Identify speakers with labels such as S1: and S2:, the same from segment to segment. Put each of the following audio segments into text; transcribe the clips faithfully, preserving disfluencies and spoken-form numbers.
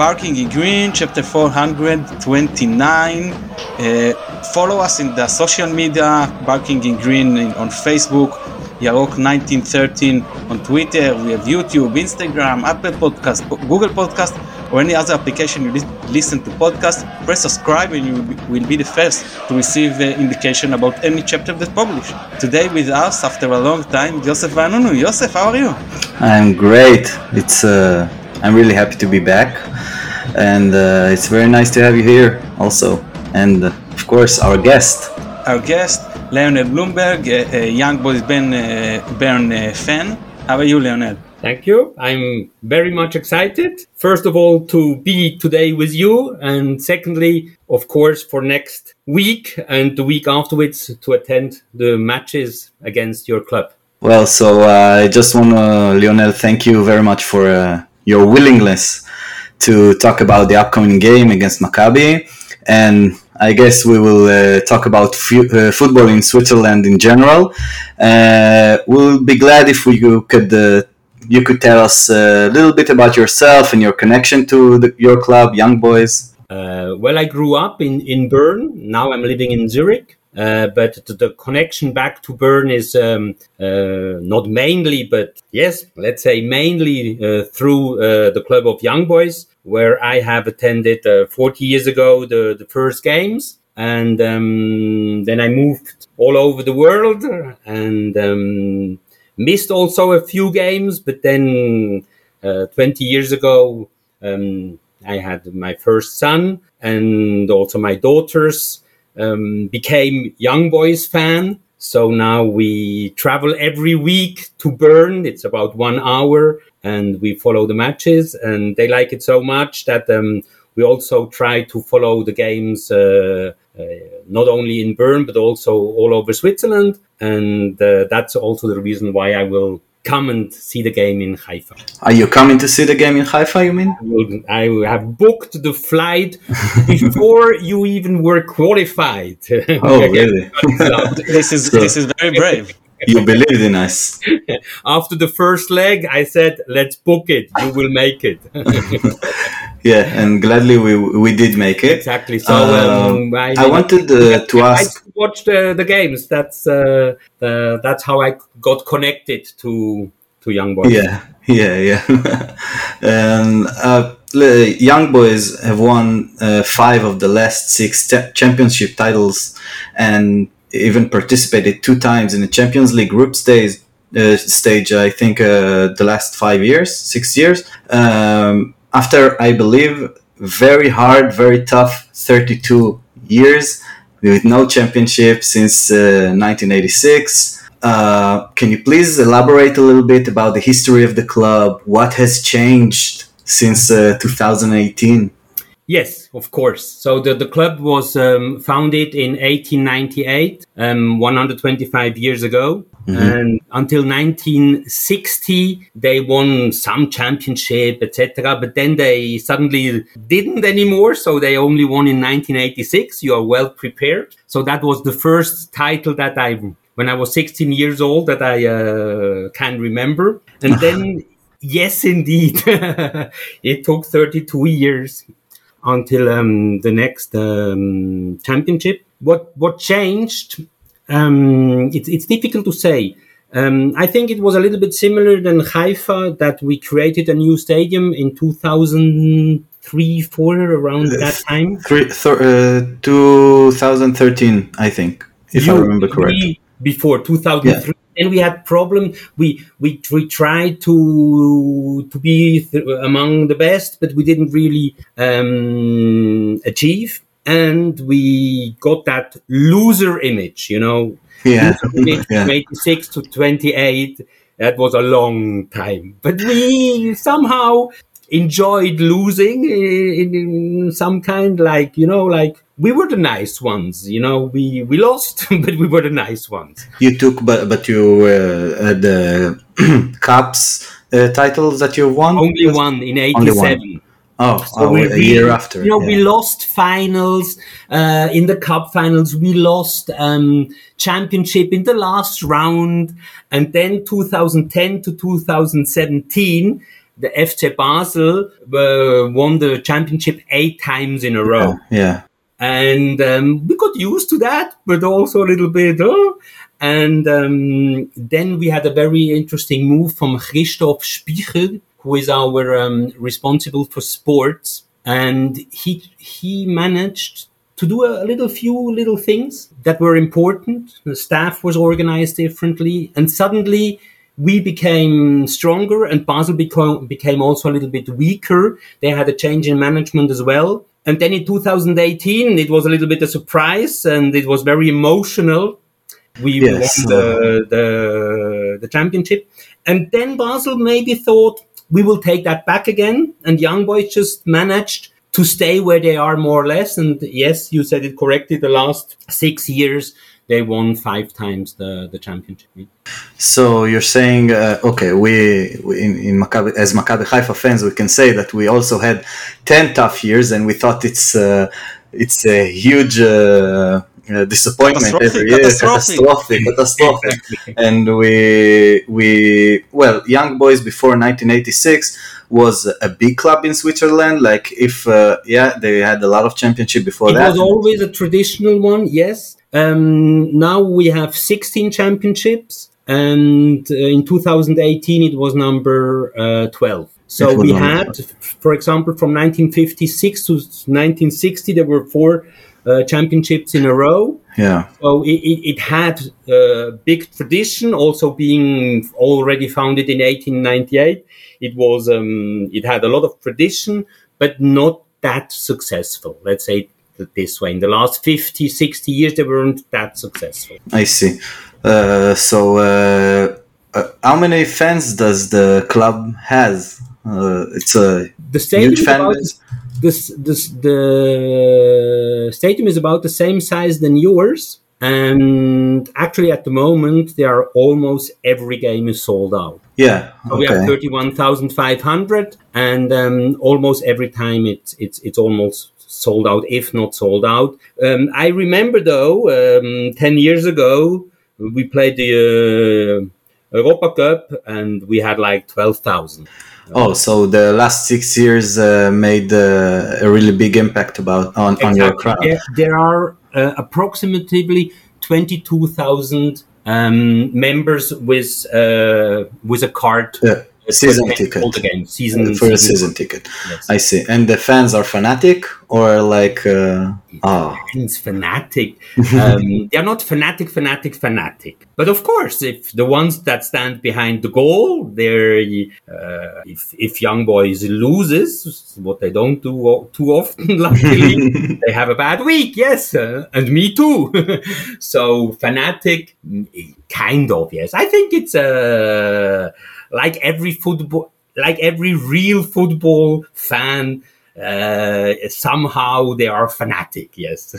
S1: Barking in Green, chapter four hundred twenty-nine. Uh, follow us in the social media, Barking in Green in, on Facebook, Yarok nineteen thirteen on Twitter. We have YouTube, Instagram, Apple Podcast, Google Podcast, or any other application you li- listen to podcast. Press subscribe and you will be, will be the first to receive uh, indication about any chapter that's published. Today with us, after a long time, Yosef Vanunu. Yosef, how are you?
S2: I'm great. It's uh, I'm really happy to be back, and uh, it's very nice to have you here also. And uh, of course, our guest.
S1: Our guest, Leonel Bloomberg, a, a Young Boys Ben, uh, Bern uh, fan. How are you, Leonel?
S3: Thank you. I'm very much excited. First of all, to be today with you. And secondly, of course, for next week and the week afterwards to attend the matches against your club.
S2: Well, so uh, I just want to, Lionel, thank you very much for uh, your willingness to talk about the upcoming game against Maccabi. And I guess we will uh, talk about f- uh, football in Switzerland in general. Uh, we'll be glad if we could uh, you could tell us a little bit about yourself and your connection to the, your club, Young Boys.
S3: Uh, well, I grew up in, in Bern. Now I'm living in Zurich. Uh, but the, the connection back to Bern is um, uh, not mainly, but yes, let's say mainly uh, through uh, the club of Young Boys, where I have attended uh, forty years ago the, the first games. And um, then I moved all over the world and um, missed also a few games. But then uh, twenty years ago, um, I had my first son and also my daughters. Um, became Young Boys fan. So now we travel every week to Bern. It's about one hour and we follow the matches and they like it so much that um, we also try to follow the games uh, uh, not only in Bern, but also all over Switzerland. And uh, that's also the reason why I will come and see the game in Haifa.
S2: Are you coming to see the game in Haifa, you mean?
S3: I, will, I have booked the flight before you even were qualified.
S2: Oh, really?
S1: This is so, this is very brave.
S2: You believed in us.
S3: After the first leg, I said, let's book it. You will make it.
S2: Yeah, and gladly we we did make it.
S3: Exactly. So
S2: um,
S3: um, I,
S2: I wanted uh, to ask.
S3: I watched the, the games. That's uh, the, that's how I got connected to to Young Boys.
S2: Yeah, yeah, yeah. And uh, Young Boys have won uh, five of the last six te- championship titles, and even participated two times in the Champions League group stage. Uh, stage, I think, uh, the last five years, six years. Um, After, I believe, very hard, very tough thirty-two years with no championship since uh, nineteen eighty-six. Uh, can you please elaborate a little bit about the history of the club? What has changed since uh, two thousand eighteen?
S3: Yes, of course. So the, the club was um, founded in eighteen ninety-eight, um, one hundred twenty-five years ago. Mm-hmm. And until nineteen sixty, they won some championship, et cetera. But then they suddenly didn't anymore. So they only won in nineteen eighty-six. You are well prepared. So that was the first title that I, when I was sixteen years old, that I uh, can remember. And then, yes, indeed, it took thirty-two years until um, the next um, championship. What what changed? Um, it's it's difficult to say. Um, I think it was a little bit similar than Haifa, that we created a new stadium in two thousand three, four, around that time.
S2: Three, th- uh, twenty thirteen, I think, if you, I remember correctly.
S3: Before two thousand three. Yeah. And we had problem. We we we tried to to be th- among the best, but we didn't really um, achieve. And we got that loser image, you know.
S2: Yeah.
S3: Loser image
S2: Yeah.
S3: From eighty-six to twenty-eight. That was a long time, but we somehow enjoyed losing in, in some kind, like, you know, like we were the nice ones, you know, we, we lost, but we were the nice ones.
S2: You took, but, but you, uh, had the Cups uh, titles that you won?
S3: Only one in eighty-seven.
S2: Oh,
S3: so
S2: oh
S3: we
S2: a
S3: really,
S2: year after.
S3: You know,
S2: yeah.
S3: we lost finals uh, in the cup finals. We lost um, championship in the last round. And then two thousand ten to two thousand seventeen, the F C Basel uh, won the championship eight times in a row.
S2: Yeah. yeah.
S3: And um, we got used to that, but also a little bit, oh. And um, then we had a very interesting move from Christoph Spicher, who is our um, responsible for sports. And he he managed to do a little few little things that were important. The staff was organized differently. And suddenly we became stronger, and Basel became, became also a little bit weaker. They had a change in management as well. And then in two thousand eighteen, it was a little bit a surprise, and it was very emotional. We
S2: yes,
S3: won the, the, the championship. And then Basel maybe thought, we will take that back again. And Young Boys just managed to stay where they are more or less. And yes, you said it correctly. The last six years, they won five times the, the championship.
S2: So you're saying, uh, okay, we, we in, in Maccabi, as Maccabi Haifa fans, we can say that we also had ten tough years, and we thought it's uh, it's a huge uh, uh, disappointment every year, catastrophic, catastrophic.
S3: Exactly.
S2: And we we well, Young Boys before nineteen eighty-six was a big club in Switzerland. Like if uh, yeah, they had a lot of championship before
S3: it
S2: that.
S3: It was always a traditional one, yes. Um, now we have sixteen championships, and uh, in two thousand eighteen it was number uh, twelve. So we had, for example, from nineteen fifty-six to nineteen sixty, there were four uh, championships in a row.
S2: Yeah.
S3: So it, it, it had a big tradition, also being already founded in eighteen ninety-eight. It was, um, it had a lot of tradition, but not that successful. Let's say this way. In the last fifty, sixty years, they weren't that successful.
S2: I see. Uh, so, uh, uh, how many fans does the club has? Uh, it's a
S3: the stadium
S2: huge fan
S3: base. This, this, the stadium is about the same size than yours. And actually, at the moment, they are almost every game is sold out.
S2: Yeah,
S3: so okay. We have thirty-one thousand five hundred, and um, almost every time it's it's it's almost sold out, if not sold out. Um, I remember though, um, ten years ago, we played the uh, Europa Cup, and we had like twelve thousand.
S2: Oh, so the last six years uh, made uh, a really big impact about on,
S3: exactly.
S2: on your crowd.
S3: There, there are uh, approximately twenty-two thousand um, members with uh, with a card.
S2: Yeah. Season ticket.
S3: All the games. Season,
S2: for
S3: season
S2: a season ticket.
S3: Yes.
S2: I see. And the fans are fanatic or like uh, oh.
S3: Fans fanatic. um, they are not fanatic, fanatic, fanatic. But of course, if the ones that stand behind the goal, they're uh, if if Young Boys loses, what they don't do too often, luckily, they have a bad week. Yes, uh, and me too. So fanatic, kind of. Yes, I think it's a. Uh, Like every football, like every real football fan, uh, somehow they are fanatic. Yes.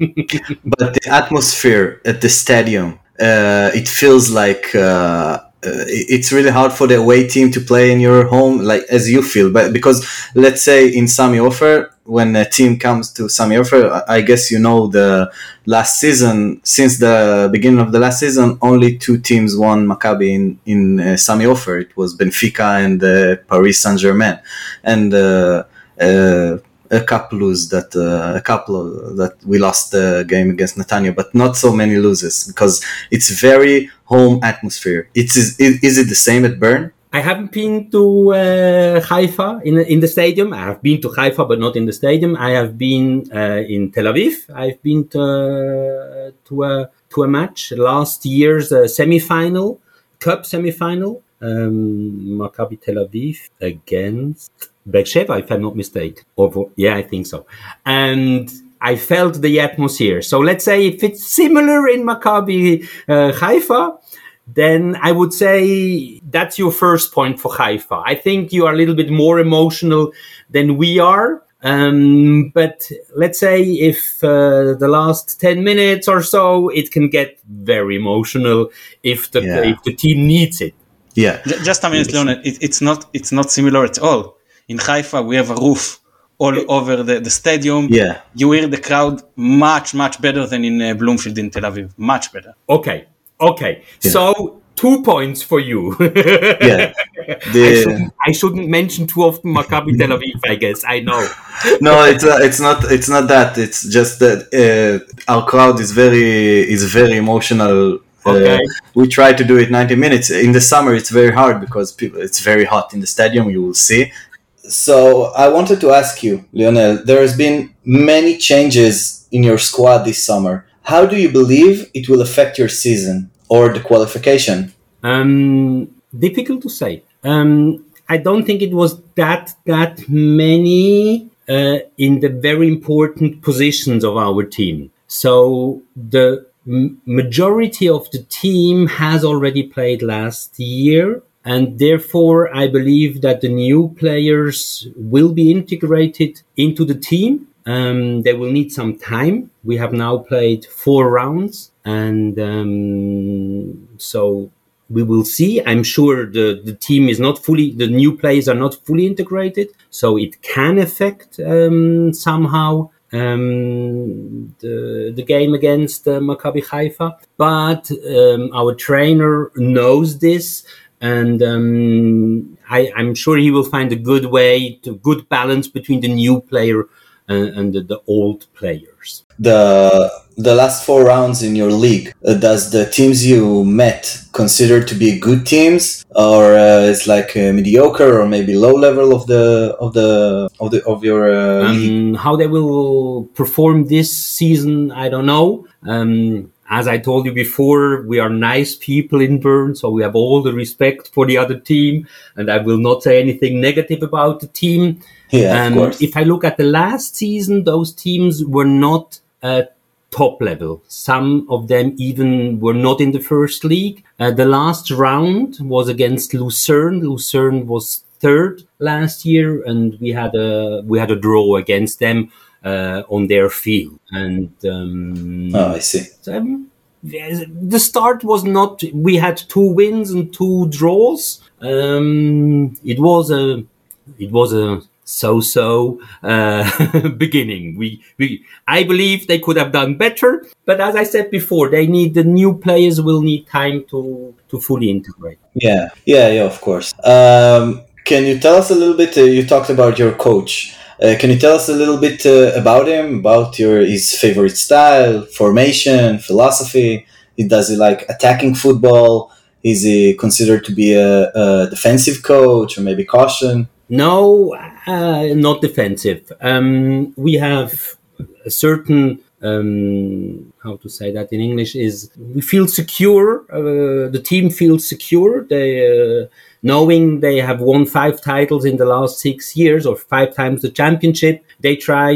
S2: But the atmosphere at the stadium, uh, it feels like uh, uh, it's really hard for the away team to play in your home, like as you feel. But because let's say in Sami Ofer, when a team comes to Sami Ofer, I guess you know the last season, since the beginning of the last season, only two teams won Maccabi in, in uh, Sami Ofer. It was Benfica and uh, Paris Saint-Germain. And uh, uh, a couple lose that, uh, a couple that we lost the game against Netanya, but not so many losses because it's very home atmosphere. It's, is, is it the same at Bern?
S3: I haven't been to uh, Haifa in in the stadium. I have been to Haifa, but not in the stadium. I have been uh, in Tel Aviv. I've been to uh, to a to a match last year's uh, semifinal, cup semifinal. Um, Maccabi Tel Aviv against Beersheva, if I'm not mistaken. Or yeah, I think so. And I felt the atmosphere. So let's say if it's similar in Maccabi uh, Haifa, then I would say that's your first point for Haifa. I think you are a little bit more emotional than we are. Um, but let's say if uh, the last ten minutes or so, it can get very emotional if the
S2: yeah.
S3: if the team needs it.
S2: Yeah.
S1: Just a minute, Leonard. It, it's not it's not similar at all. In Haifa, we have a roof all over the, the stadium.
S2: Yeah.
S1: You hear the crowd much, much better than in uh, Bloomfield in Tel Aviv. Much better.
S3: Okay. Okay. Yeah. So two points for you.
S2: Yeah. The,
S3: I, shouldn't, I shouldn't mention too often Maccabi Tel Aviv, I guess. I know.
S2: No, it's not, it's not. It's not that. It's just that uh, our crowd is very is very emotional.
S3: Okay.
S2: Uh, we try to do it ninety minutes. In the summer, it's very hard because people, it's very hot in the stadium. You will see. So I wanted to ask you, Lionel. There has been many changes in your squad this summer. How do you believe it will affect your season or the qualification?
S3: Um, difficult to say. Um, I don't think it was that that many uh, in the very important positions of our team. So the m- majority of the team has already played last year, and therefore I believe that the new players will be integrated into the team. Um, they will need some time. We have now played four rounds, and um, so we will see. I'm sure the, the team is not fully, the new players are not fully integrated, so it can affect um, somehow um, the, the game against uh, Maccabi Haifa. But um, our trainer knows this, and um, I, I'm sure he will find a good way, to good balance between the new player and, and the, the old players.
S2: The the last four rounds in your league, uh, does the teams you met consider to be good teams, or uh, it's like uh, mediocre or maybe low level of the of the of the of your uh,
S3: um,
S2: league?
S3: How they will perform this season, I don't know. Um, as I told you before, we are nice people in Bern, so we have all the respect for the other team, and I will not say anything negative about the team.
S2: Yeah,
S3: um,
S2: of course.
S3: If I look at the last season, those teams were not uh, top level. Some of them even were not in the first league. Uh, the last round was against Lucerne. Lucerne was third last year, and we had a we had a draw against them uh, on their field. And um,
S2: oh, I see.
S3: um, the start was not. We had two wins and two draws. Um, it was a it was a so-so uh, beginning. We, we, I believe they could have done better, but as I said before, they need the new players will need time to to fully integrate.
S2: Yeah, yeah, yeah. Of course. Um, can you tell us a little bit? Uh, you talked about your coach. Uh, can you tell us a little bit uh, about him? About your his favorite style, formation, philosophy? He does he like attacking football? Is he considered to be a, a defensive coach or maybe caution?
S3: No, uh, not defensive. Um, we have a certain, um, how to say that in English, is we feel secure. Uh, the team feels secure. They, uh, knowing they have won five titles in the last six years or five times the championship, they try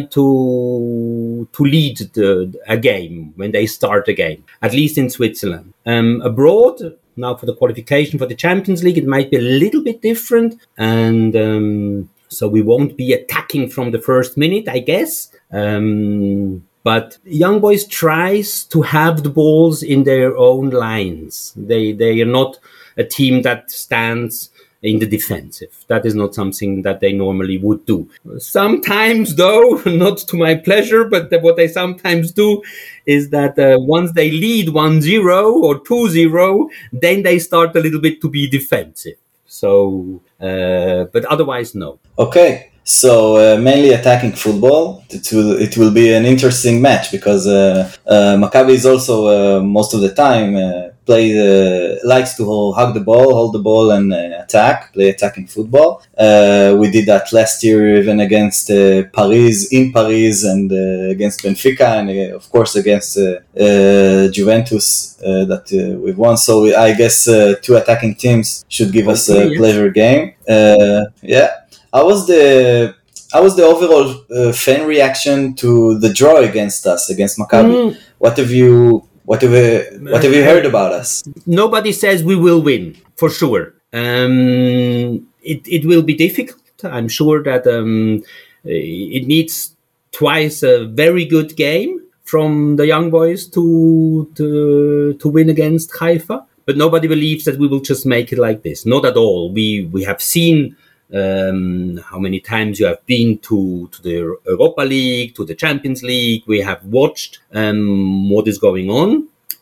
S3: to to lead the, a game when they start a game, at least in Switzerland. Um, abroad, now for the qualification for the Champions League, it might be a little bit different. And um, so we won't be attacking from the first minute, I guess. Um, but Young Boys tries to have the balls in their own lines. They they are not a team that stands in the defensive. That is not something that they normally would do. Sometimes, though, not to my pleasure, but what they sometimes do is that uh, once they lead one zero or two zero, then they start a little bit to be defensive. So, uh, but otherwise, no.
S2: Okay. So uh, mainly attacking football. It will it will be an interesting match because uh, uh, Maccabi is also uh, most of the time uh, play uh, likes to hold, hug the ball, hold the ball, and uh, attack. Play attacking football. Uh, we did that last year, even against uh, Paris in Paris, and uh, against Benfica, and uh, of course against uh, uh, Juventus uh, that uh, we've won. So we, I guess uh, two attacking teams should give us a
S3: yes.
S2: pleasure game. Uh, yeah. How was the how was the overall uh, fan reaction to the draw against us, against Maccabi? Mm. What have you what have you, what have you heard about us?
S3: Nobody says we will win for sure. Um, it it will be difficult. I'm sure that um, it needs twice a very good game from the Young Boys to to to win against Haifa. But nobody believes that we will just make it like this. Not at all. We we have seen. Um, how many times you have been to, to the Europa League, to the Champions League. We have watched um, what is going on.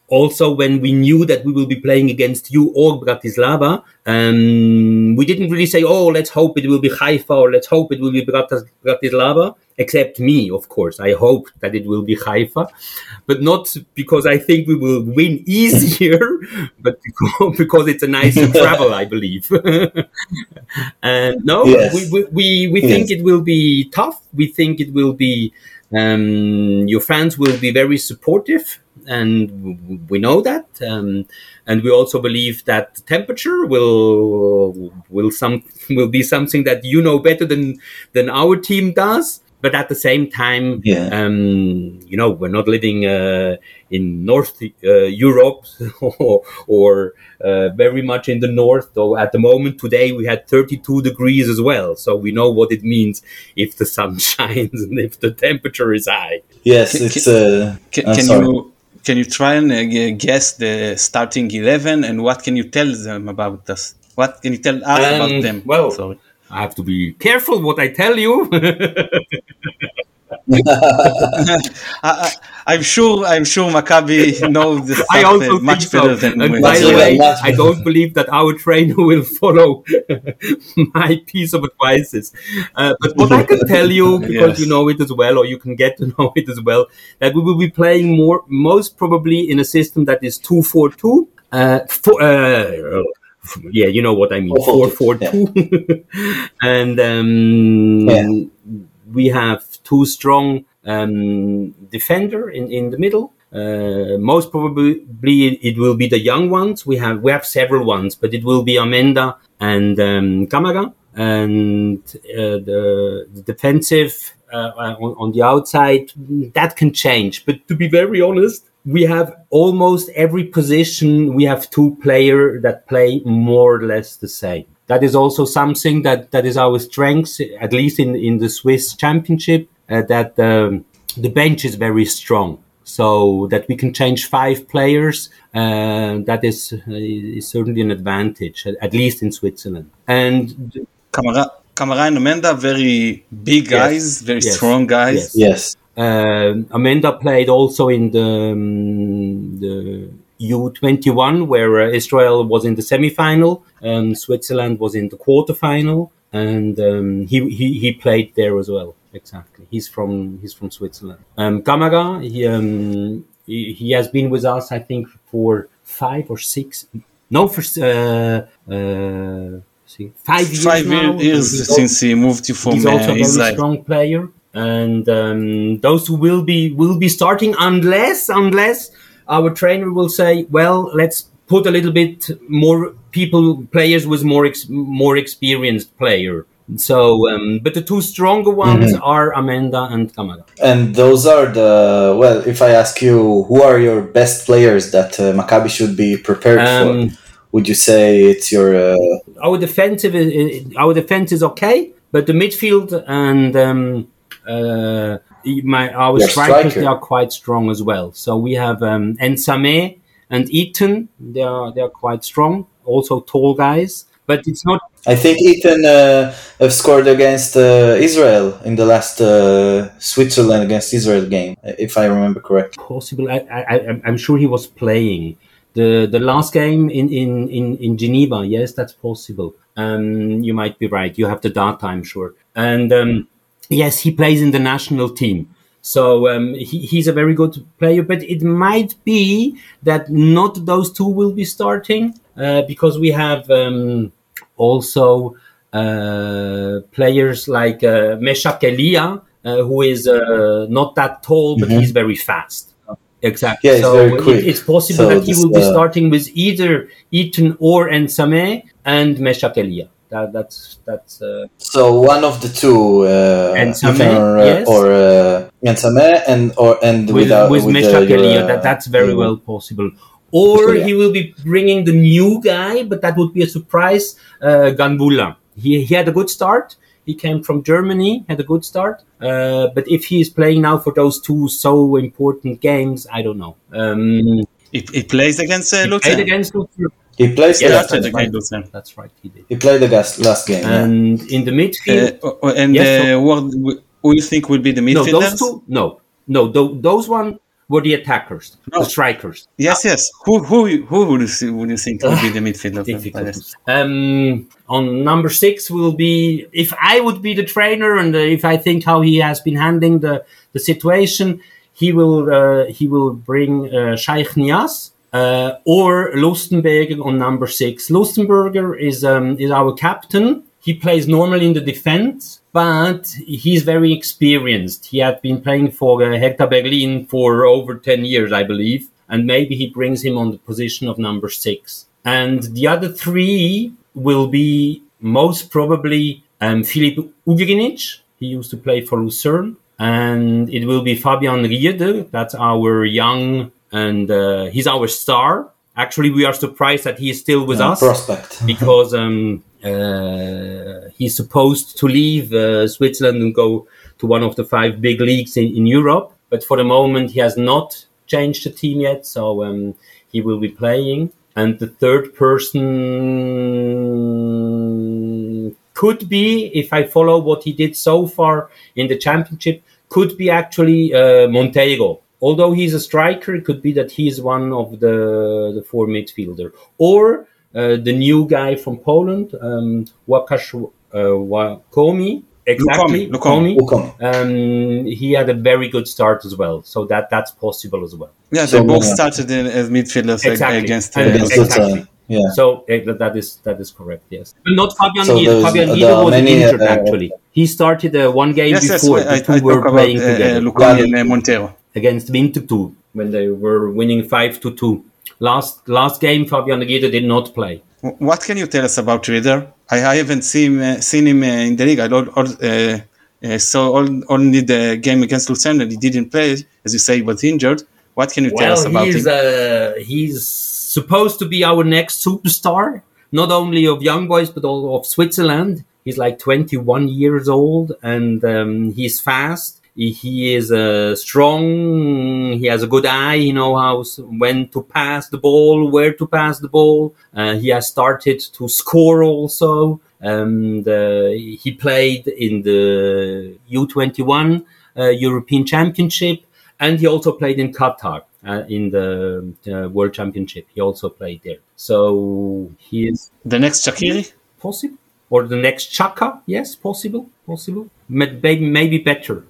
S3: also when we knew that we will be playing against you or Bratislava, um, we didn't really say, oh, let's hope it will be Haifa or let's hope it will be Bratis- Bratislava, except me, of course. I hope that it will be Haifa, but not because I think we will win easier, but because, because it's a nicer travel, I believe. And no,
S2: yes.
S3: we, we, we, we yes. think it will be tough. We think it will be, um, your fans will be very supportive. And we know that, um, and we also believe that the temperature will will some will be something that you know better than than our team does. But at the same time,
S2: yeah.
S3: um, you know, we're not living uh, in North uh, Europe or, or uh, very much in the north. Though at the moment today we had thirty-two degrees as well, so we know what it means if the sun shines and if the temperature is high.
S2: Yes, can, it's. Uh,
S1: can, can you? Can you try and uh, guess the starting eleven and what can you tell them about us? What can you tell us um, about them?
S3: Well,
S1: Sorry.
S3: I have to be careful what I tell you.
S1: I, I'm sure. I'm sure Maccabi knows the stuff
S3: I also
S1: much
S3: so.
S1: better than
S3: and
S1: we.
S3: By the way, I don't believe that our trainer will follow my piece of advices. Uh, but what I can tell you, because yes. you know it as well, or you can get to know it as well, that we will be playing more, most probably in a system that is two four two. Uh, four, uh, yeah, you know what I mean. four four two. And um, yeah. we have two strong um, defender in, in the middle. Uh, most probably it will be the young ones. We have we have several ones, but it will be Amenda and um, Kamaga. And uh, the, the defensive uh, on, on the outside, that can change. But to be very honest, we have almost every position. We have two players that play more or less the same. That is also something that, that is our strength, at least in, in the Swiss Championship, uh, that um, the bench is very strong. So that we can change five players, uh, that is, uh, is certainly an advantage, at, at least in Switzerland. And
S1: Kamara, Kamara and Amenda, very big guys, yes. very yes. strong guys.
S2: Yes. yes.
S3: Uh, Amenda played also in the, um, the U twenty-one, where uh, Israel was in the semi-final, and Switzerland was in the quarter-final, and um, he, he he played there as well. Exactly, he's from he's from Switzerland. Um, Kamaga, he, um, he he has been with us, I think, for five or six. No, for uh, uh, see, five years
S1: five
S3: now.
S1: years since he moved to from
S3: He's also a very
S1: Israel.
S3: strong player, and um, those who will be will be starting unless unless. Our trainer will say, well, let's put a little bit more people, players with more ex- more experienced player. So, um, but the two stronger ones mm-hmm. are Amenda and Kamaga.
S2: And those are the, well, if I ask you, who are your best players that uh, Maccabi should be prepared um, for? Would you say it's your... Uh...
S3: Our defensive is, our defense is okay, but the midfield and... Um, uh, My our
S2: Your
S3: strikers
S2: striker.
S3: They are quite strong as well. So we have um, Ensame and Eaton. They are they are quite strong. Also tall guys, but it's not.
S2: I think Eaton uh, have scored against uh, Israel in the last uh, Switzerland against Israel game, if I remember correctly.
S3: Possible. I, I I'm sure he was playing the the last game in in in, in Geneva. Yes, that's possible. Um, you might be right. You have the data, I'm sure. And. Um, Yes, he plays in the national team. So um, he, he's a very good player, but it might be that not those two will be starting uh, because we have um, also uh, players like uh, Meshach Elia, uh, who is uh, not that tall, but mm-hmm. he's very fast. Exactly.
S2: Yeah,
S3: so
S2: very quick.
S3: It, it's possible so that he will uh... be starting with either Eaton or Ensame and Meshach Elia. That, that's that's. Uh,
S2: so one of the two, uh,
S3: Ensame,
S2: or
S3: yes.
S2: or uh, Ensame and or and
S3: with
S2: without,
S3: with
S2: with
S3: Meshach
S2: uh,
S3: Elia, that that's very yeah. well possible. Or
S2: yeah.
S3: he will be bringing the new guy, but that would be a surprise. Uh, Ganbula. He he had a good start. He came from Germany, had a good start. Uh, but if he is playing now for those two so important games, I don't know. Um,
S1: he, he plays against uh, Luther.
S3: Played against Luther.
S2: He plays
S3: yeah,
S2: that's,
S3: that's,
S2: right.
S3: right. that's right. He did.
S2: He played the last, last game.
S3: And
S2: yeah.
S3: in the midfield,
S1: uh, and
S3: yes,
S1: uh,
S3: so,
S1: what who you think will be the midfielders?
S3: No, those two. No, no, th- those one. were the attackers, no. the strikers.
S1: Yes, yes. Who who who would you see, would you think would be the midfielder?
S3: Difficult. Um, on number six will be, if I would be the trainer and uh, if I think how he has been handling the, the situation, he will uh, he will bring uh, Sheikh Niasse uh, or Lustenberger on number six. Lustenberger is um, is our captain. He plays normally in the defense, but he's very experienced. He had been playing for uh, Hertha Berlin for over ten years, I believe, and maybe he brings him on the position of number six. And the other three will be most probably um, Filip Ugrinic. He used to play for Lucerne. And it will be Fabian Rieder. That's our young, and uh, he's our star. Actually, we are surprised that he is still with
S2: yeah,
S3: us.
S2: Prospect.
S3: Because um, uh, he's supposed to leave uh, Switzerland and go to one of the five big leagues in, in Europe. But for the moment, he has not changed the team yet. So um, he will be playing. And the third person could be, if I follow what he did so far in the championship, could be actually uh, Monteiro. Although he's a striker, it could be that he's one of the, the four midfielder. Or uh, the new guy from Poland, um, Łukasz uh, Łakomi. Exactly,
S1: Lukomi.
S3: Lukomi. Um, he had a very good start as well. So that, that's possible as well.
S1: Yeah,
S2: so,
S1: they both
S2: uh,
S1: started in, as midfielders
S3: exactly.
S1: against... Uh,
S3: against exactly.
S2: Yeah.
S3: So uh, that is that is correct. Yes, but not Fabian
S2: so
S3: Rieder. Fabian Rieder was
S2: many,
S3: injured
S2: uh,
S3: actually. He started uh, one game
S1: yes,
S3: before
S1: yes,
S3: the
S1: I,
S3: two
S1: I
S3: were playing
S1: about,
S3: together.
S1: Uh, Lukomi and uh, Monteiro
S3: against Winterthur when they were winning five to two. Last last game, Fabian Rieder did not play.
S1: What can you tell us about Rieder? I, I haven't seen uh, seen him uh, in the league. I don't, uh, uh, saw all, only the game against Lucerne. He didn't play, as you say, he was injured. What can you
S3: well,
S1: tell us about
S3: he's,
S1: him?
S3: Uh, he's supposed to be our next superstar, not only of Young Boys, but also of Switzerland. He's like twenty-one years old, and um, he's fast. He, he is uh, strong. He has a good eye. He knows how when to pass the ball, where to pass the ball. Uh, he has started to score also. And uh, he played in the U twenty-one uh, European Championship. And he also played in Qatar uh, in the uh, World Championship. He also played there. So he is...
S1: The next Shaqiri?
S3: Possible. Or the next Chaka? Yes, possible. Possible. Maybe, maybe better.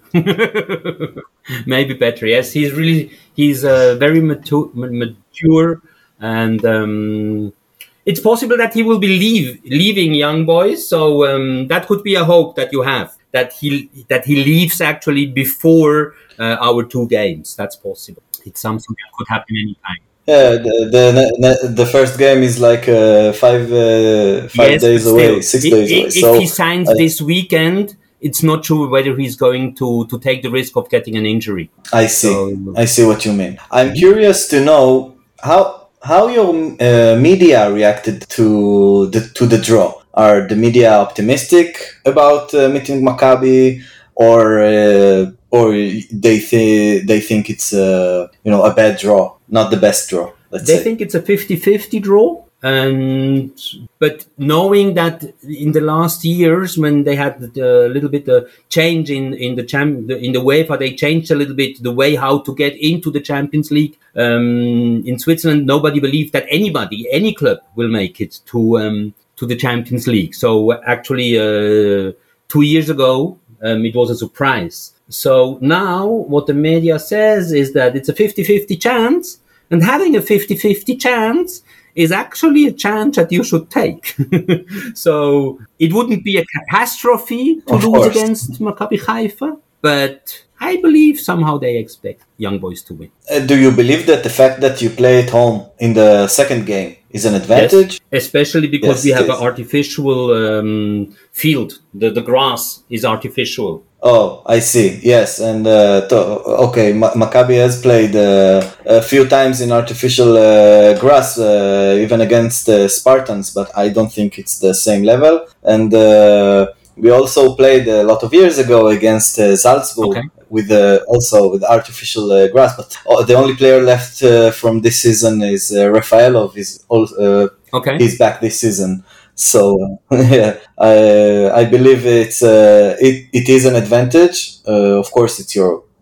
S3: Maybe better. Yes, he's really... He's uh, very mature, mature and... Um, it's possible that he will be leave, leaving Young Boys. So um, that could be a hope that you have. That he that he leaves actually before uh, our two games. That's possible. It's something that could happen anytime.
S2: Yeah, the the, the first game is like uh, five uh, five
S3: yes,
S2: days
S3: still,
S2: away, six
S3: if,
S2: days
S3: if,
S2: away.
S3: If
S2: so
S3: he signs
S2: I,
S3: this weekend, it's not sure whether he's going to, to take the risk of getting an injury.
S2: I see.
S3: So,
S2: I see what you mean. I'm curious to know how how your uh, media reacted to the to the draw. Are the media optimistic about uh, meeting Maccabi, or uh, or they th- they think it's uh, you know a bad draw, not the best draw? Let's
S3: they
S2: say.
S3: think it's a fifty-fifty draw, and but knowing that in the last years when they had a little bit of change in in the champ in the UEFA, they changed a little bit the way how to get into the Champions League. Um, in Switzerland, nobody believed that anybody, any club, will make it to. Um, to the Champions League. So actually, uh, two years ago, um, it was a surprise. So now what the media says is that it's a fifty-fifty chance, and having a fifty-fifty chance is actually a chance that you should take. So it wouldn't be a catastrophe to
S2: Of
S3: lose
S2: course.
S3: against Maccabi Haifa, but I believe somehow they expect Young Boys to win.
S2: Uh, do you believe that the fact that you play at home in the second game is an advantage?
S3: Yes, especially because
S2: Yes,
S3: we
S2: it
S3: have
S2: is.
S3: an artificial um, field. The, the grass is artificial.
S2: Oh, I see. Yes, and uh, to, okay, Ma- Maccabi has played uh, a few times in artificial uh, grass, uh, even against uh, Spartans, but I don't think it's the same level. And uh, we also played a lot of years ago against uh, Salzburg.
S3: Okay.
S2: With uh, also with artificial uh, grass, but oh, the only player left uh, from this season is uh, Rafaelov. Is also uh,
S3: Okay.
S2: he's back this season, so yeah, I I believe it's uh, it it is an advantage. Uh, of course, it's your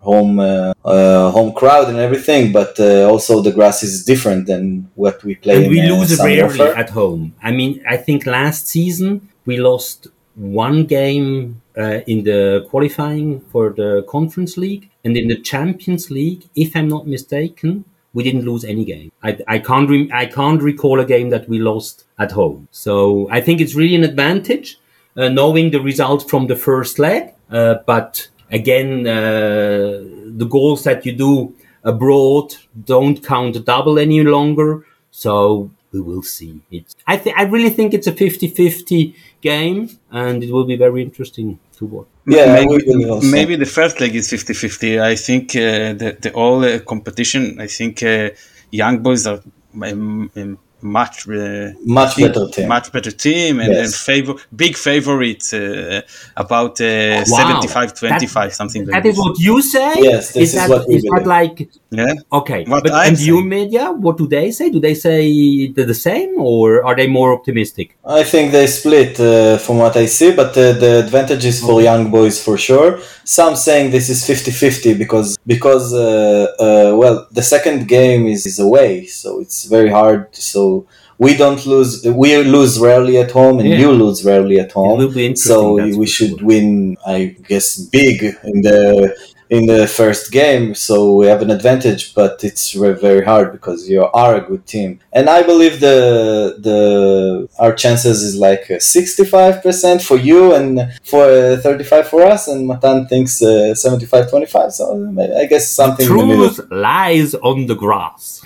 S2: home uh, uh, home crowd and everything, but uh, also the grass is different than what we play.
S3: And
S2: in,
S3: we
S2: uh,
S3: lose
S2: Sun
S3: rarely
S2: Warfare.
S3: at home. I mean, I think last season we lost one game uh, in the qualifying for the Conference League, and in the Champions League, if I'm not mistaken, we didn't lose any game. I, I can't re- I can't recall a game that we lost at home. So I think it's really an advantage uh, knowing the results from the first leg. Uh, but again, uh, the goals that you do abroad don't count double any longer. So we will see. It's, I th- I really think it's a fifty-fifty game, and it will be very interesting to watch.
S2: Yeah,
S1: maybe,
S2: we will also.
S1: maybe the first leg is fifty-fifty. I think uh, the, the all uh, competition, I think uh, Young Boys are um, um, much uh,
S2: Much
S1: team,
S2: better team.
S1: much better team, and,
S2: Yes.
S1: and favor big favorite uh, about uh,
S3: Wow.
S1: seventy-five twenty-five,
S3: That-
S1: something like
S3: That
S1: this.
S3: is what you say?
S2: Yes, this is
S3: that,
S2: what we
S3: is that
S2: believe.
S3: like,
S1: Yeah.
S3: okay.
S1: What
S3: But,
S1: I'm
S3: and you
S1: saying.
S3: media, what do they say? Do they say the, the same, or are they more optimistic?
S2: I think they split uh, from what I see, but uh, the advantage is for Young Boys for sure. Some saying this is fifty-fifty because, because uh, uh, well, the second game is, is away, so it's very hard. So we don't lose, we lose rarely at home, and
S3: Yeah.
S2: you lose rarely at home.
S3: will be interesting,
S2: So
S3: that's
S2: we
S3: for
S2: should
S3: sure.
S2: win, I guess, big in the in the first game, so we have an advantage, but it's re- very hard because you are a good team. And I believe the the our chances is like sixty-five percent for you and for uh, thirty-five for us, and Matan thinks uh, seventy-five twenty-five, so I guess something in the middle.
S3: Truth lies on the grass.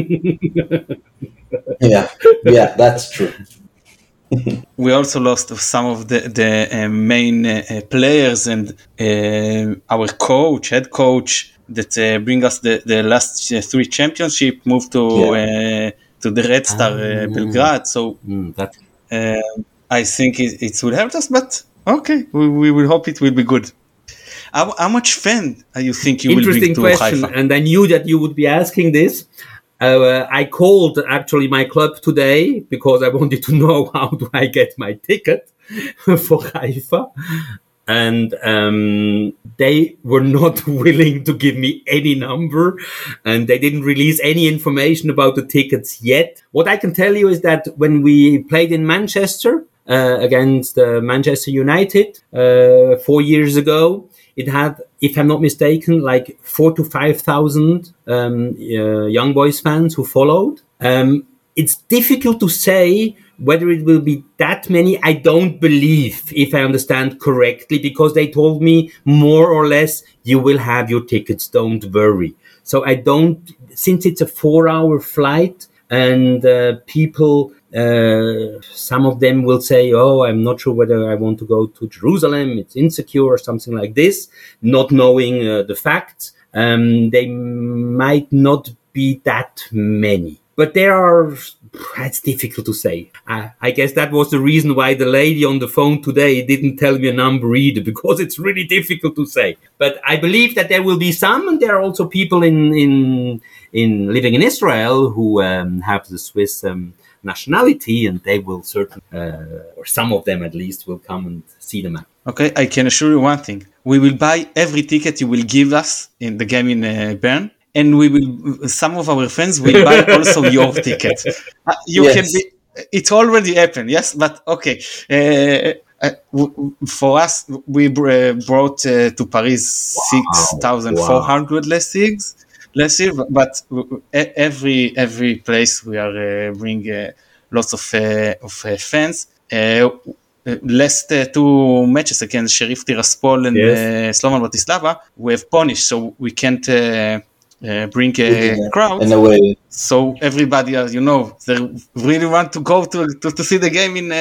S2: Yeah, yeah, that's true.
S1: We also lost some of the the uh, main uh, uh, players and uh, our coach, head coach that uh, bring us the the last uh, three championship moved to
S2: Yeah.
S1: uh, to the Red Star uh, Belgrade. So
S3: Mm, that,
S1: uh, I think it, it will help us, but okay, we, we will hope it will be good. How, how much fan uh, you think you will
S3: interesting
S1: bring to
S3: question,
S1: Haifa?
S3: and I knew that you would be asking this. Uh, I called actually my club today because I wanted to know how do I get my ticket for Haifa, and um, they were not willing to give me any number, and they didn't release any information about the tickets yet. What I can tell you is that when we played in Manchester uh, against uh, Manchester United uh, four years ago, it had, if I'm not mistaken, like four to five thousand um, uh, Young Boys fans who followed. Um, it's difficult to say whether it will be that many. I don't believe, if I understand correctly, because they told me more or less, you will have your tickets, don't worry. So I don't, since it's a four-hour flight and uh, people, uh, some of them will say, oh, I'm not sure whether I want to go to Jerusalem, it's insecure or something like this, not knowing uh, the facts. Um, they might not be that many. But there are, it's difficult to say. I, I guess that was the reason why the lady on the phone today didn't tell me a number either, because it's really difficult to say. But I believe that there will be some, and there are also people in in, in living in Israel who um, have the Swiss um, nationality, and they will certainly, uh, or some of them at least, will come and see the match.
S1: Okay, I can assure you one thing. We will buy every ticket you will give us in the game in uh, Bern. And we will. Some of our friends will buy also your ticket. Uh, you
S2: Yes.
S1: can be. It already happened, yes. But okay, uh, uh, w- for us, we br- uh, brought uh, to Paris six thousand four hundred last years, last year. But w- e- every every place we are uh, bring uh, lots of uh, of uh, fans. Uh, last uh, two matches against Sheriff Tiraspol and
S3: Yes.
S1: uh, Slovan Bratislava, we have punished, so we can't. Uh, uh, bring a
S2: Yeah.
S1: crowd,
S2: In a way,
S1: so everybody, uh, you know, they really want to go to to, to see the game in uh,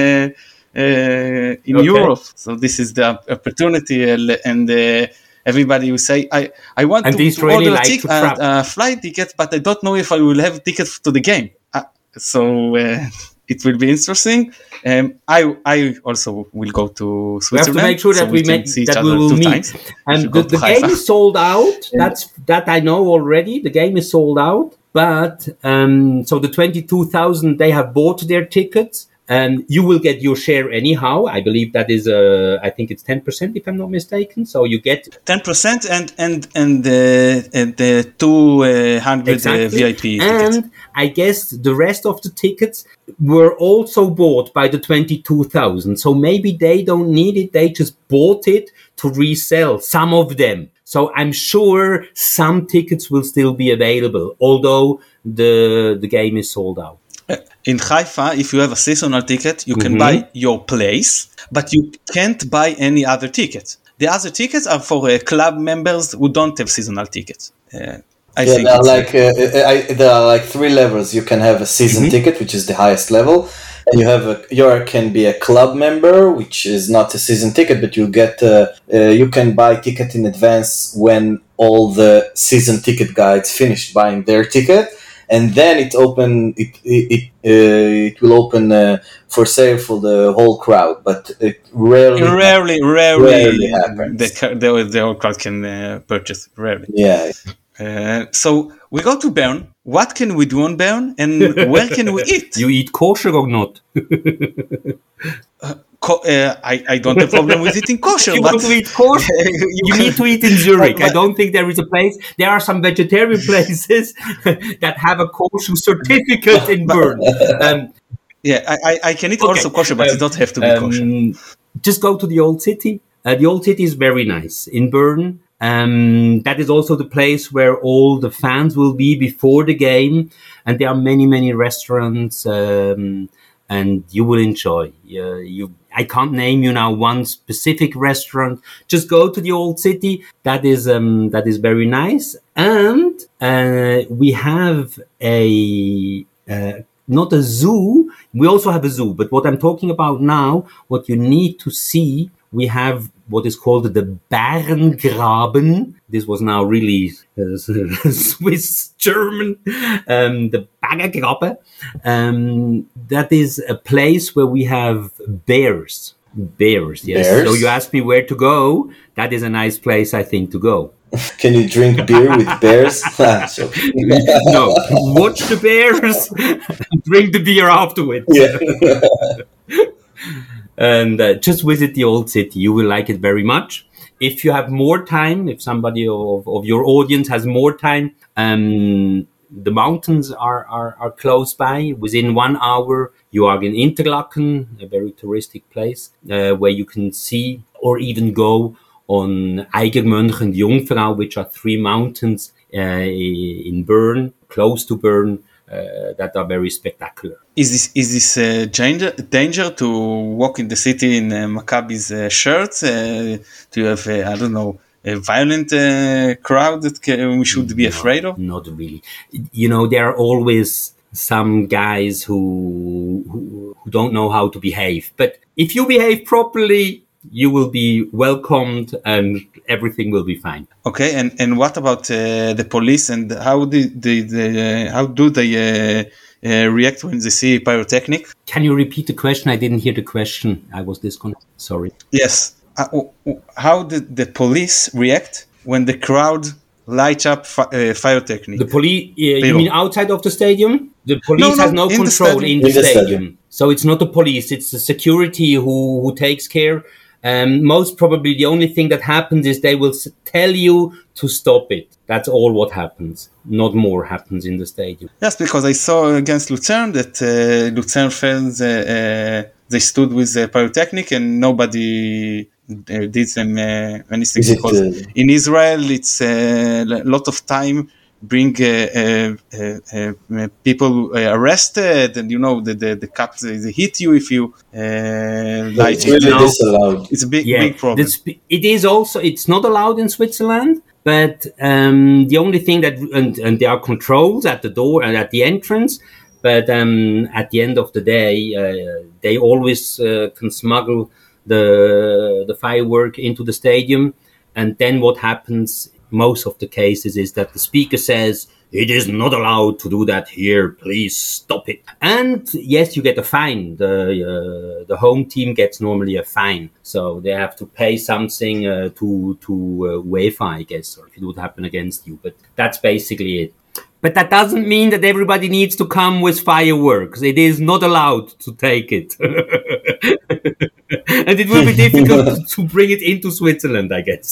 S1: uh, in
S3: Okay.
S1: Europe. So this is the opportunity, uh, and uh, everybody will say, "I I want
S3: And
S1: to,
S3: these
S1: to
S3: really
S1: order a,
S3: like
S1: tic-
S3: to
S1: uh,
S3: travel.
S1: uh, flight ticket, but I don't know if I will have tickets to the game." Uh, so uh, it will be interesting. Um, I I also will go to
S3: We have
S1: Switzerland.
S3: to make sure that
S1: so
S3: we
S1: can
S3: make
S1: see each
S3: that we
S1: other
S3: will
S1: two
S3: meet.
S1: times. if
S3: And
S1: you
S3: the,
S1: go to
S3: the game
S1: Haifa.
S3: is sold out. That's that I know already. The game is sold out. But um, so the twenty-two thousand they have bought their tickets, Um, you will get your share anyhow. I believe that is, uh, I think it's ten percent if I'm not mistaken. So you get
S1: ten percent and and and the uh, the two hundred
S3: exactly.
S1: uh, V I P
S3: and
S1: tickets.
S3: I guess the rest of the tickets were also bought by the twenty-two thousand. So maybe they don't need it. They just bought it to resell, some of them. So I'm sure some tickets will still be available, although the the game is sold out.
S1: In Haifa, if you have a seasonal ticket, you can
S3: Mhm.
S1: buy your place, but you can't buy any other ticket. The other tickets are for uh, club members who don't have seasonal tickets. Uh, I
S2: Yeah,
S1: think
S2: there are
S1: it's,
S2: like uh, I, there are like three levels. You can have a season ticket, which is the highest level, and you have a you can be a club member, which is not a season ticket, but you get uh, uh, you can buy ticket in advance when all the season ticket guides finish buying their ticket, and then it open it it it, uh, it will open uh, for sale for the whole crowd, but it rarely
S1: rarely, rarely,
S2: rarely happens.
S1: the ca- the, the whole crowd can uh, purchase. Rarely.
S2: Yeah.
S1: Uh, so we go to Bern. What can we do on Bern, and where can we eat?
S3: You eat kosher or not?
S1: Co- uh, I, I don't have problem with eating kosher.
S3: You
S1: but
S3: want to eat kosher?
S1: you,
S3: You
S1: can-
S3: need to eat in Zurich.
S1: But-
S3: I don't think there is a place. There are some vegetarian places that have a kosher certificate in Bern. Um,
S1: Yeah, I, I, I can eat
S3: Okay.
S1: also kosher, but
S3: Um,
S1: it don't have to be kosher.
S3: Um, just go to the old city. Uh, the old city is very nice in Bern. Um, that is also the place where all the fans will be before the game, and there are many, many restaurants, um, and you will enjoy. Uh, you, I can't name you now one specific restaurant. Just go to the old city. That is um, that is very nice, and uh, we have a. Uh, not a zoo. We also have a zoo, but what I'm talking about now, what you need to see, we have what is called the Bärengraben. This was now really uh, Swiss German. Um, the Bärengraben. Um, that is a place where we have bears. Bears, yes.
S2: Bears?
S3: So you asked me where to go. That is a nice place, I think, to go.
S2: Can you drink beer with bears? Ah, so-
S3: No, watch the bears, drink the beer afterwards.
S2: yeah.
S3: And uh, just visit the old city. You will like it very much. If you have more time, if somebody of, of your audience has more time, um, the mountains are, are, are close by. Within one hour, you are in Interlaken, a very touristic place, uh, where you can see or even go on Eigermönch and Jungfrau, which are three mountains uh, in Bern, close to Bern, uh, that are very spectacular.
S1: Is this is this uh, danger danger to walk in the city in uh, Maccabi's uh, shirts? Uh, do you have uh, I don't know a violent uh, crowd that can, we should be afraid of?
S3: Not really. You know, there are always some guys who, who who don't know how to behave. But if you behave properly, you will be welcomed and everything will be fine.
S1: Okay, and, and what about uh, the police and how do they, they, uh, how do they uh, uh, react when they see pyrotechnic?
S3: Can you repeat the question? I didn't hear the question. I was disconnected. Sorry.
S1: Yes. Uh, how did the police react when the crowd light up fi- uh, pyrotechnic?
S3: The police, uh, you mean outside of the stadium? The police
S1: No, no,
S3: has no
S1: in the
S3: control
S1: stadium.
S3: in the
S2: In the
S3: stadium.
S2: stadium.
S3: So it's not the police, it's the security who, who takes care. Um, most probably the only thing that happens is they will s- tell you to stop it. That's all what happens. Not more happens in the stadium.
S1: Yes, because I saw against Lucerne that uh, Lucerne fans, uh, uh, they stood with the pyrotechnic and nobody uh, did them uh, anything.
S2: Is it,
S1: Because
S2: uh,
S1: in Israel, it's a uh, lot of time bring uh, uh, uh, uh, people uh, arrested, and you know the the, the cops they, they hit you if you uh, light
S2: It's
S1: it.
S2: really
S3: No.
S2: disallowed.
S1: It's a big
S3: Yeah,
S1: big problem.
S3: that's, it is also, it's not allowed in Switzerland, but um, the only thing that, and, and there are controls at the door and at the entrance, but um, at the end of the day, uh, they always uh, can smuggle the the firework into the stadium, and then what happens most of the cases is that the speaker says, it is not allowed to do that here. Please stop it. And yes, you get a fine. The uh, the home team gets normally a fine, so they have to pay something uh, to to uh, UEFA, I guess, or if it would happen against you. But that's basically it. But that doesn't mean that everybody needs to come with fireworks. It is not allowed to take it. And it will be difficult to bring it into Switzerland, I guess.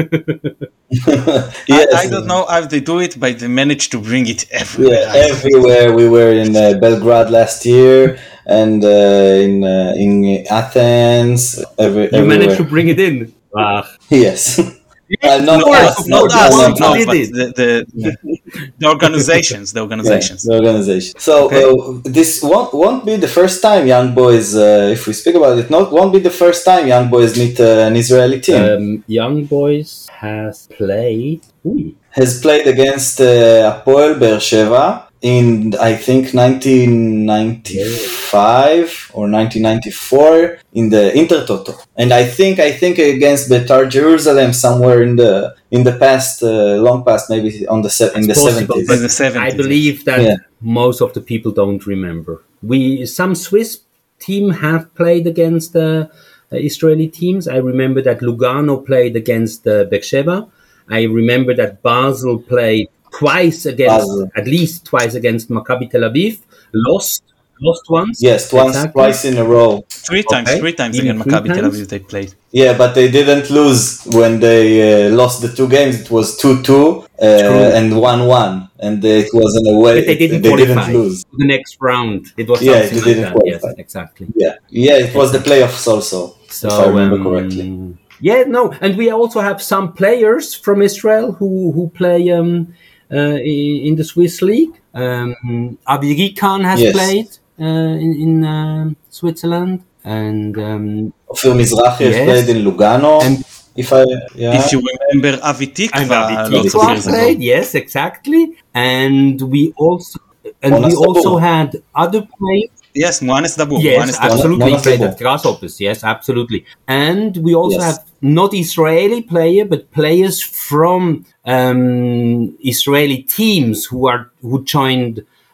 S2: Yes.
S1: I, I don't know how they do it, but they managed to bring it everywhere.
S2: Yeah, everywhere. We were in uh, Belgrade last year, and uh, in uh, in Athens. Every,
S3: You
S2: everywhere.
S3: managed to bring it in. Ah.
S2: Yes. Uh, not
S1: No,
S2: us,
S1: not
S2: not
S1: us,
S2: us,
S1: no,
S3: did
S1: but
S3: it.
S1: the, the, the organizations, the organizations.
S2: Yeah, the organization. So
S1: Okay.
S2: uh, this won't, won't be the first time Young Boys, uh, if we speak about it, not won't be the first time Young Boys meet uh, an Israeli team.
S3: Um, Young Boys has played. Ooh.
S2: Has played against uh, Hapoel Be'er Sheva in, I think, nineteen ninety-five or nineteen ninety-four in the Intertoto, and I think I think against Beitar Jerusalem somewhere in the in the past, uh, long past, maybe on the se- in the
S3: Possible,
S2: seventies.
S1: In the seventies.
S3: I believe that
S2: Yeah.
S3: most of the people don't remember. We some Swiss team have played against uh, uh, Israeli teams. I remember that Lugano played against uh, Beersheba. I remember that Basel played twice against,
S2: Basel.
S3: at least twice against Maccabi Tel Aviv. Lost, lost once.
S2: Yes, once,
S3: Exactly.
S2: twice in a row.
S1: Three times,
S3: Okay.
S1: three times
S3: Even
S1: against
S3: three
S1: Maccabi Tel
S3: times?
S1: Aviv they played.
S2: Yeah, but they didn't lose when they uh, lost the two games. It was two two uh, and one one, and it was in a way
S3: But they didn't
S2: they
S3: qualify
S2: didn't lose.
S3: to the next round. It was
S2: Yeah,
S3: something
S2: they
S3: like
S2: didn't
S3: that.
S2: qualify.
S3: Yes, exactly.
S2: Yeah, yeah, it was the playoffs also,
S3: So,
S2: if I remember
S3: um,
S2: correctly.
S3: Yeah, no, and we also have some players from Israel who who play um, uh, i- in the Swiss league. Um, Avi Rikan has
S2: Yes.
S3: played uh, in, in um Switzerland, and um,
S2: Ofir Mizrahi has
S3: Yes.
S2: played in Lugano.
S3: And-
S2: if I, yeah,
S1: If you remember Avi
S3: and
S1: Tikva,
S3: Avi
S1: lots of
S3: Tikva
S1: years ago.
S3: played. Yes, exactly. And we also and
S2: Monas
S3: we also
S2: Dabur.
S3: had other players.
S1: Yes, Mohanes Dabur.
S3: Yes,
S1: Mohanes Dabur.
S3: absolutely. He
S2: Monas
S3: played
S2: Dabur.
S3: at Grasshoppers. Yes, absolutely. And we also
S2: Yes.
S3: have not Israeli player, but players from um, Israeli teams who are who joined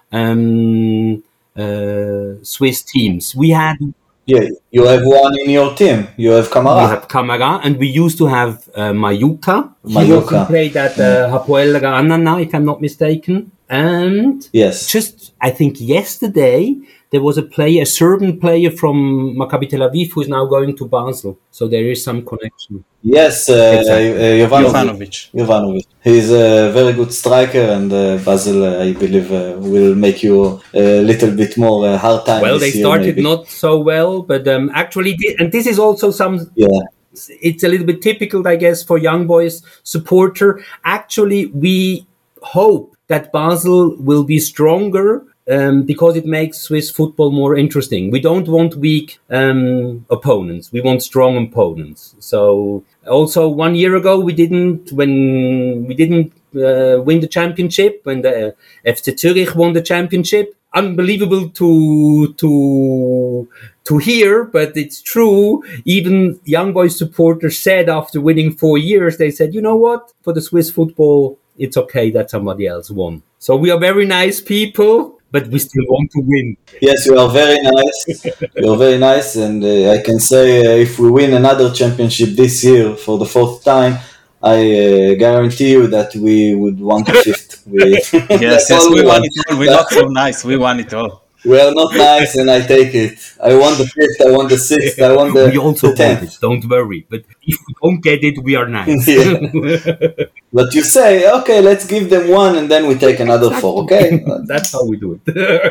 S3: um, uh, Swiss teams. We had
S2: yeah, you have one in your team. You have
S3: we
S2: Kamara.
S3: have Kamara, and we used to have uh, Mayuka. He
S2: Mayuka.
S3: also played at uh, Hapoel Ra'anana, if I'm not mistaken. And
S2: Yes,
S3: just I think yesterday there was a player, a Serbian player from Maccabi Tel Aviv who is now going to Basel. So there is some connection.
S2: yes, uh,
S3: Exactly.
S2: uh, Jovanovic.
S1: Jovanovic.
S2: Jovanovic. He's a very good striker, and uh, Basel, uh, I believe, uh, will make you a little bit more uh, hard time.
S3: Well,
S2: this
S3: they
S2: year,
S3: started
S2: maybe.
S3: not so well, but um, actually, thi- and this is also some.
S2: Yeah,
S3: It's a little bit typical, I guess, for Young Boys supporter. Actually, we hope that Basel will be stronger um, because it makes Swiss football more interesting. We don't want weak um, opponents. We want strong opponents. So also one year ago, we didn't, when we didn't uh, win the championship, when the F C Zurich won the championship, unbelievable to, to, to hear, but it's true. Even Young Boys supporters said after winning four years, they said, you know what, for the Swiss football, it's okay that somebody else won. So we are very nice people, but we still want to win.
S2: yes, you are very nice. You are very nice, and uh, I can say uh, if we win another championship this year for the fourth time, I uh, guarantee you that we would want the fifth. We,
S1: Yes,
S2: that's
S1: yes,
S2: all
S1: we won
S2: want.
S1: it all. We're not so nice. We won it all.
S2: We are not nice, and I take it. I want the fifth. I want the sixth. I want the,
S3: we also
S2: the
S3: want
S2: tenth.
S3: it, don't worry. But if we don't get it, we are nice.
S2: Yeah. But you say, okay, let's give them one, and then we take another four. Okay.
S3: That's how we do it.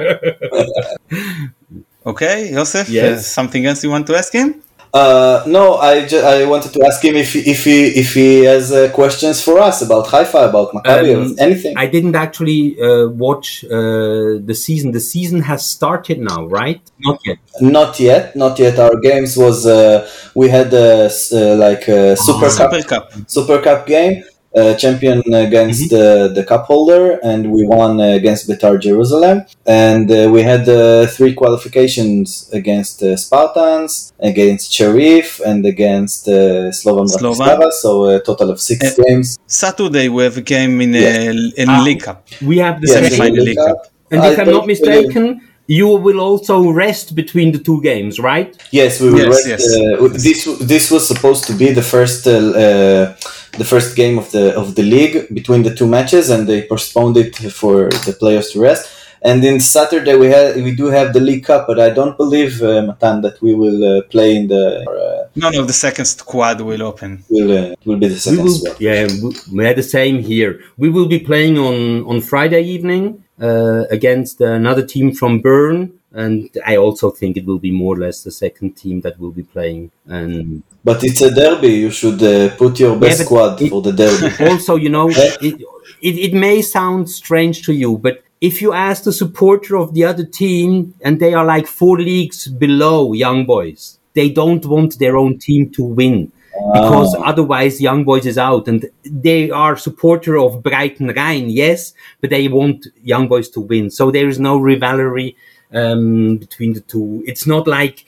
S1: Okay, Joseph,
S3: Yes.
S1: uh, something else you want to ask him?
S2: Uh, no, I, ju- I wanted to ask him if he, if he if he has uh, questions for us about Haifa, about Maccabi,
S3: Um,
S2: or anything.
S3: I didn't actually uh, watch uh, the season. The season has started now, right? Not yet.
S2: Not yet, not yet. Our games was uh, we had a s- uh, like a Super Cup
S1: Super Cup.
S2: Super Cup game, uh, champion against
S3: Mm-hmm.
S2: the the cup holder, and we won uh, against Beitar Jerusalem. And uh, we had uh, three qualifications against uh, Spartans, against Sharif, and against uh, Slovan
S1: Slovan.
S2: Bratislava. So a total of six
S1: Uh,
S2: games.
S1: Saturday we have a game in
S2: Yeah.
S1: a, in
S3: Ah.
S1: League Cup.
S3: We have the
S2: Yes,
S3: same.
S2: in
S1: semi-final
S2: the
S1: League
S2: League
S1: Cup.
S2: Cup.
S3: And
S2: I
S3: if I'm not
S2: don't believe-
S3: mistaken, you will also rest between the two games, right?
S2: Yes, we will
S1: Yes,
S2: rest.
S1: yes.
S2: Uh, this this was supposed to be the first uh, uh, the first game of the of the league between the two matches, and they postponed it for the players to rest. And in Saturday we have we do have the League Cup, but I don't believe, uh, Matan, that we will uh, play in the. Uh,
S1: no, no, the second squad will open.
S2: Will uh, will be the second
S3: we will,
S2: squad.
S3: Yeah, we had the same here. We will be playing on on Friday evening uh, against another team from Bern, and I also think it will be more or less the second team that will be playing. And
S2: but it's a derby. You should uh, put your best
S3: yeah,
S2: squad
S3: it,
S2: for the derby.
S3: Also, you know, it, it it may sound strange to you, but if you ask the supporter of the other team, and they are like four leagues below Young Boys, they don't want their own team to win, because oh. otherwise Young Boys is out. And they are supporter of Breiten Rhein, yes, but they want Young Boys to win. So there is no rivalry um, between the two. It's not like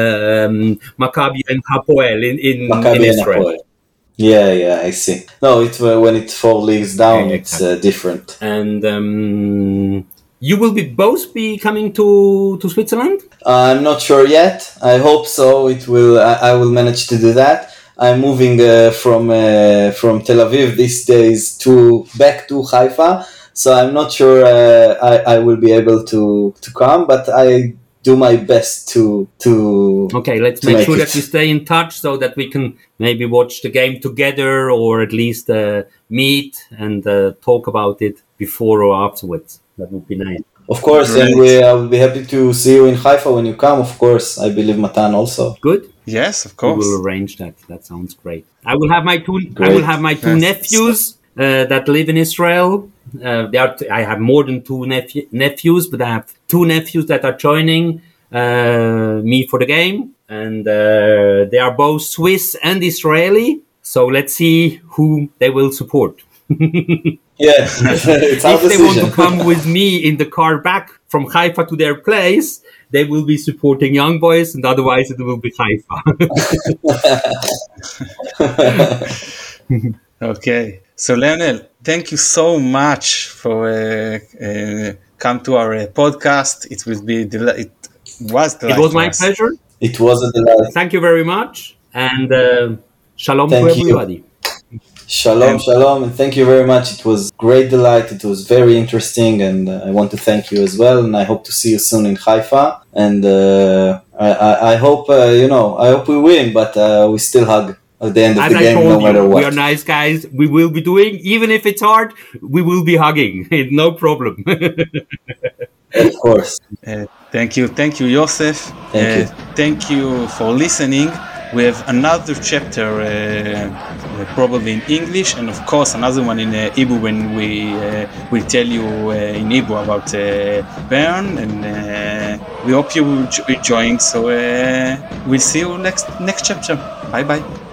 S3: um, Maccabi and Hapoel in, in, in Israel.
S2: Yeah, yeah, I see. No, it uh, when it's four leagues down, yeah, exactly. It's uh, different.
S3: And um, you will be both be coming to, to Switzerland?
S2: Uh, I'm not sure yet. I hope so. It will. I, I will manage to do that. I'm moving uh, from uh, from Tel Aviv these days to back to Haifa, so I'm not sure uh, I I will be able to to come, but I. do my best to to
S3: okay let's to make, make sure it. that we stay in touch so that we can maybe watch the game together, or at least uh, meet and uh, talk about it before or afterwards. That would be nice.
S2: Of course. Great. And we I will be happy to see you in Haifa when you come, of course. I believe Matan also.
S3: Good.
S1: Yes, of course.
S3: We will arrange that. That sounds great. I will have my two great. I will have my two yes. nephews uh, that live in Israel. Uh, they are t- I have more than two nephew- nephews, but I have two nephews that are joining uh, me for the game, and uh, they are both Swiss and Israeli. So let's see who they will support.
S2: Yeah, it's
S3: if they want to come with me in the car back from Haifa to their place, they will be supporting Young Boys, and otherwise it will be Haifa.
S1: Okay. So, Lionel, thank you so much for uh, uh, come to our uh, podcast. It will be del- it was
S3: it was my pleasure.
S2: It was a delight.
S3: Thank you very much, and uh, shalom
S2: thank
S3: to everybody.
S2: You. Shalom, um, shalom, and thank you very much. It was great delight. It was very interesting, and uh, I want to thank you as well. And I hope to see you soon in Haifa. And uh, I, I, I hope uh, you know. I hope we win, but uh, we still hug. At the end of
S3: As
S2: the
S3: I
S2: game,
S3: told
S2: no matter
S3: you,
S2: what.
S3: We are nice guys. We will be doing, even if it's hard, we will be hugging. No problem.
S2: Of course.
S1: Uh, thank you. Thank you, Yosef.
S2: Thank uh, you.
S1: Thank you for listening. We have another chapter, uh, probably in English, and of course another one in uh, Hebrew when we uh, will tell you uh, in Hebrew about uh, Bern, and uh, we hope you will jo- join. So uh, we'll see you next next chapter. Bye bye.